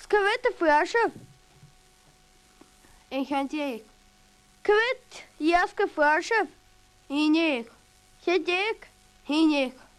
Skawet y ffrasio. En chantiek. Kwet, jaske ffrasio. Hinek. Hedek. Hinek.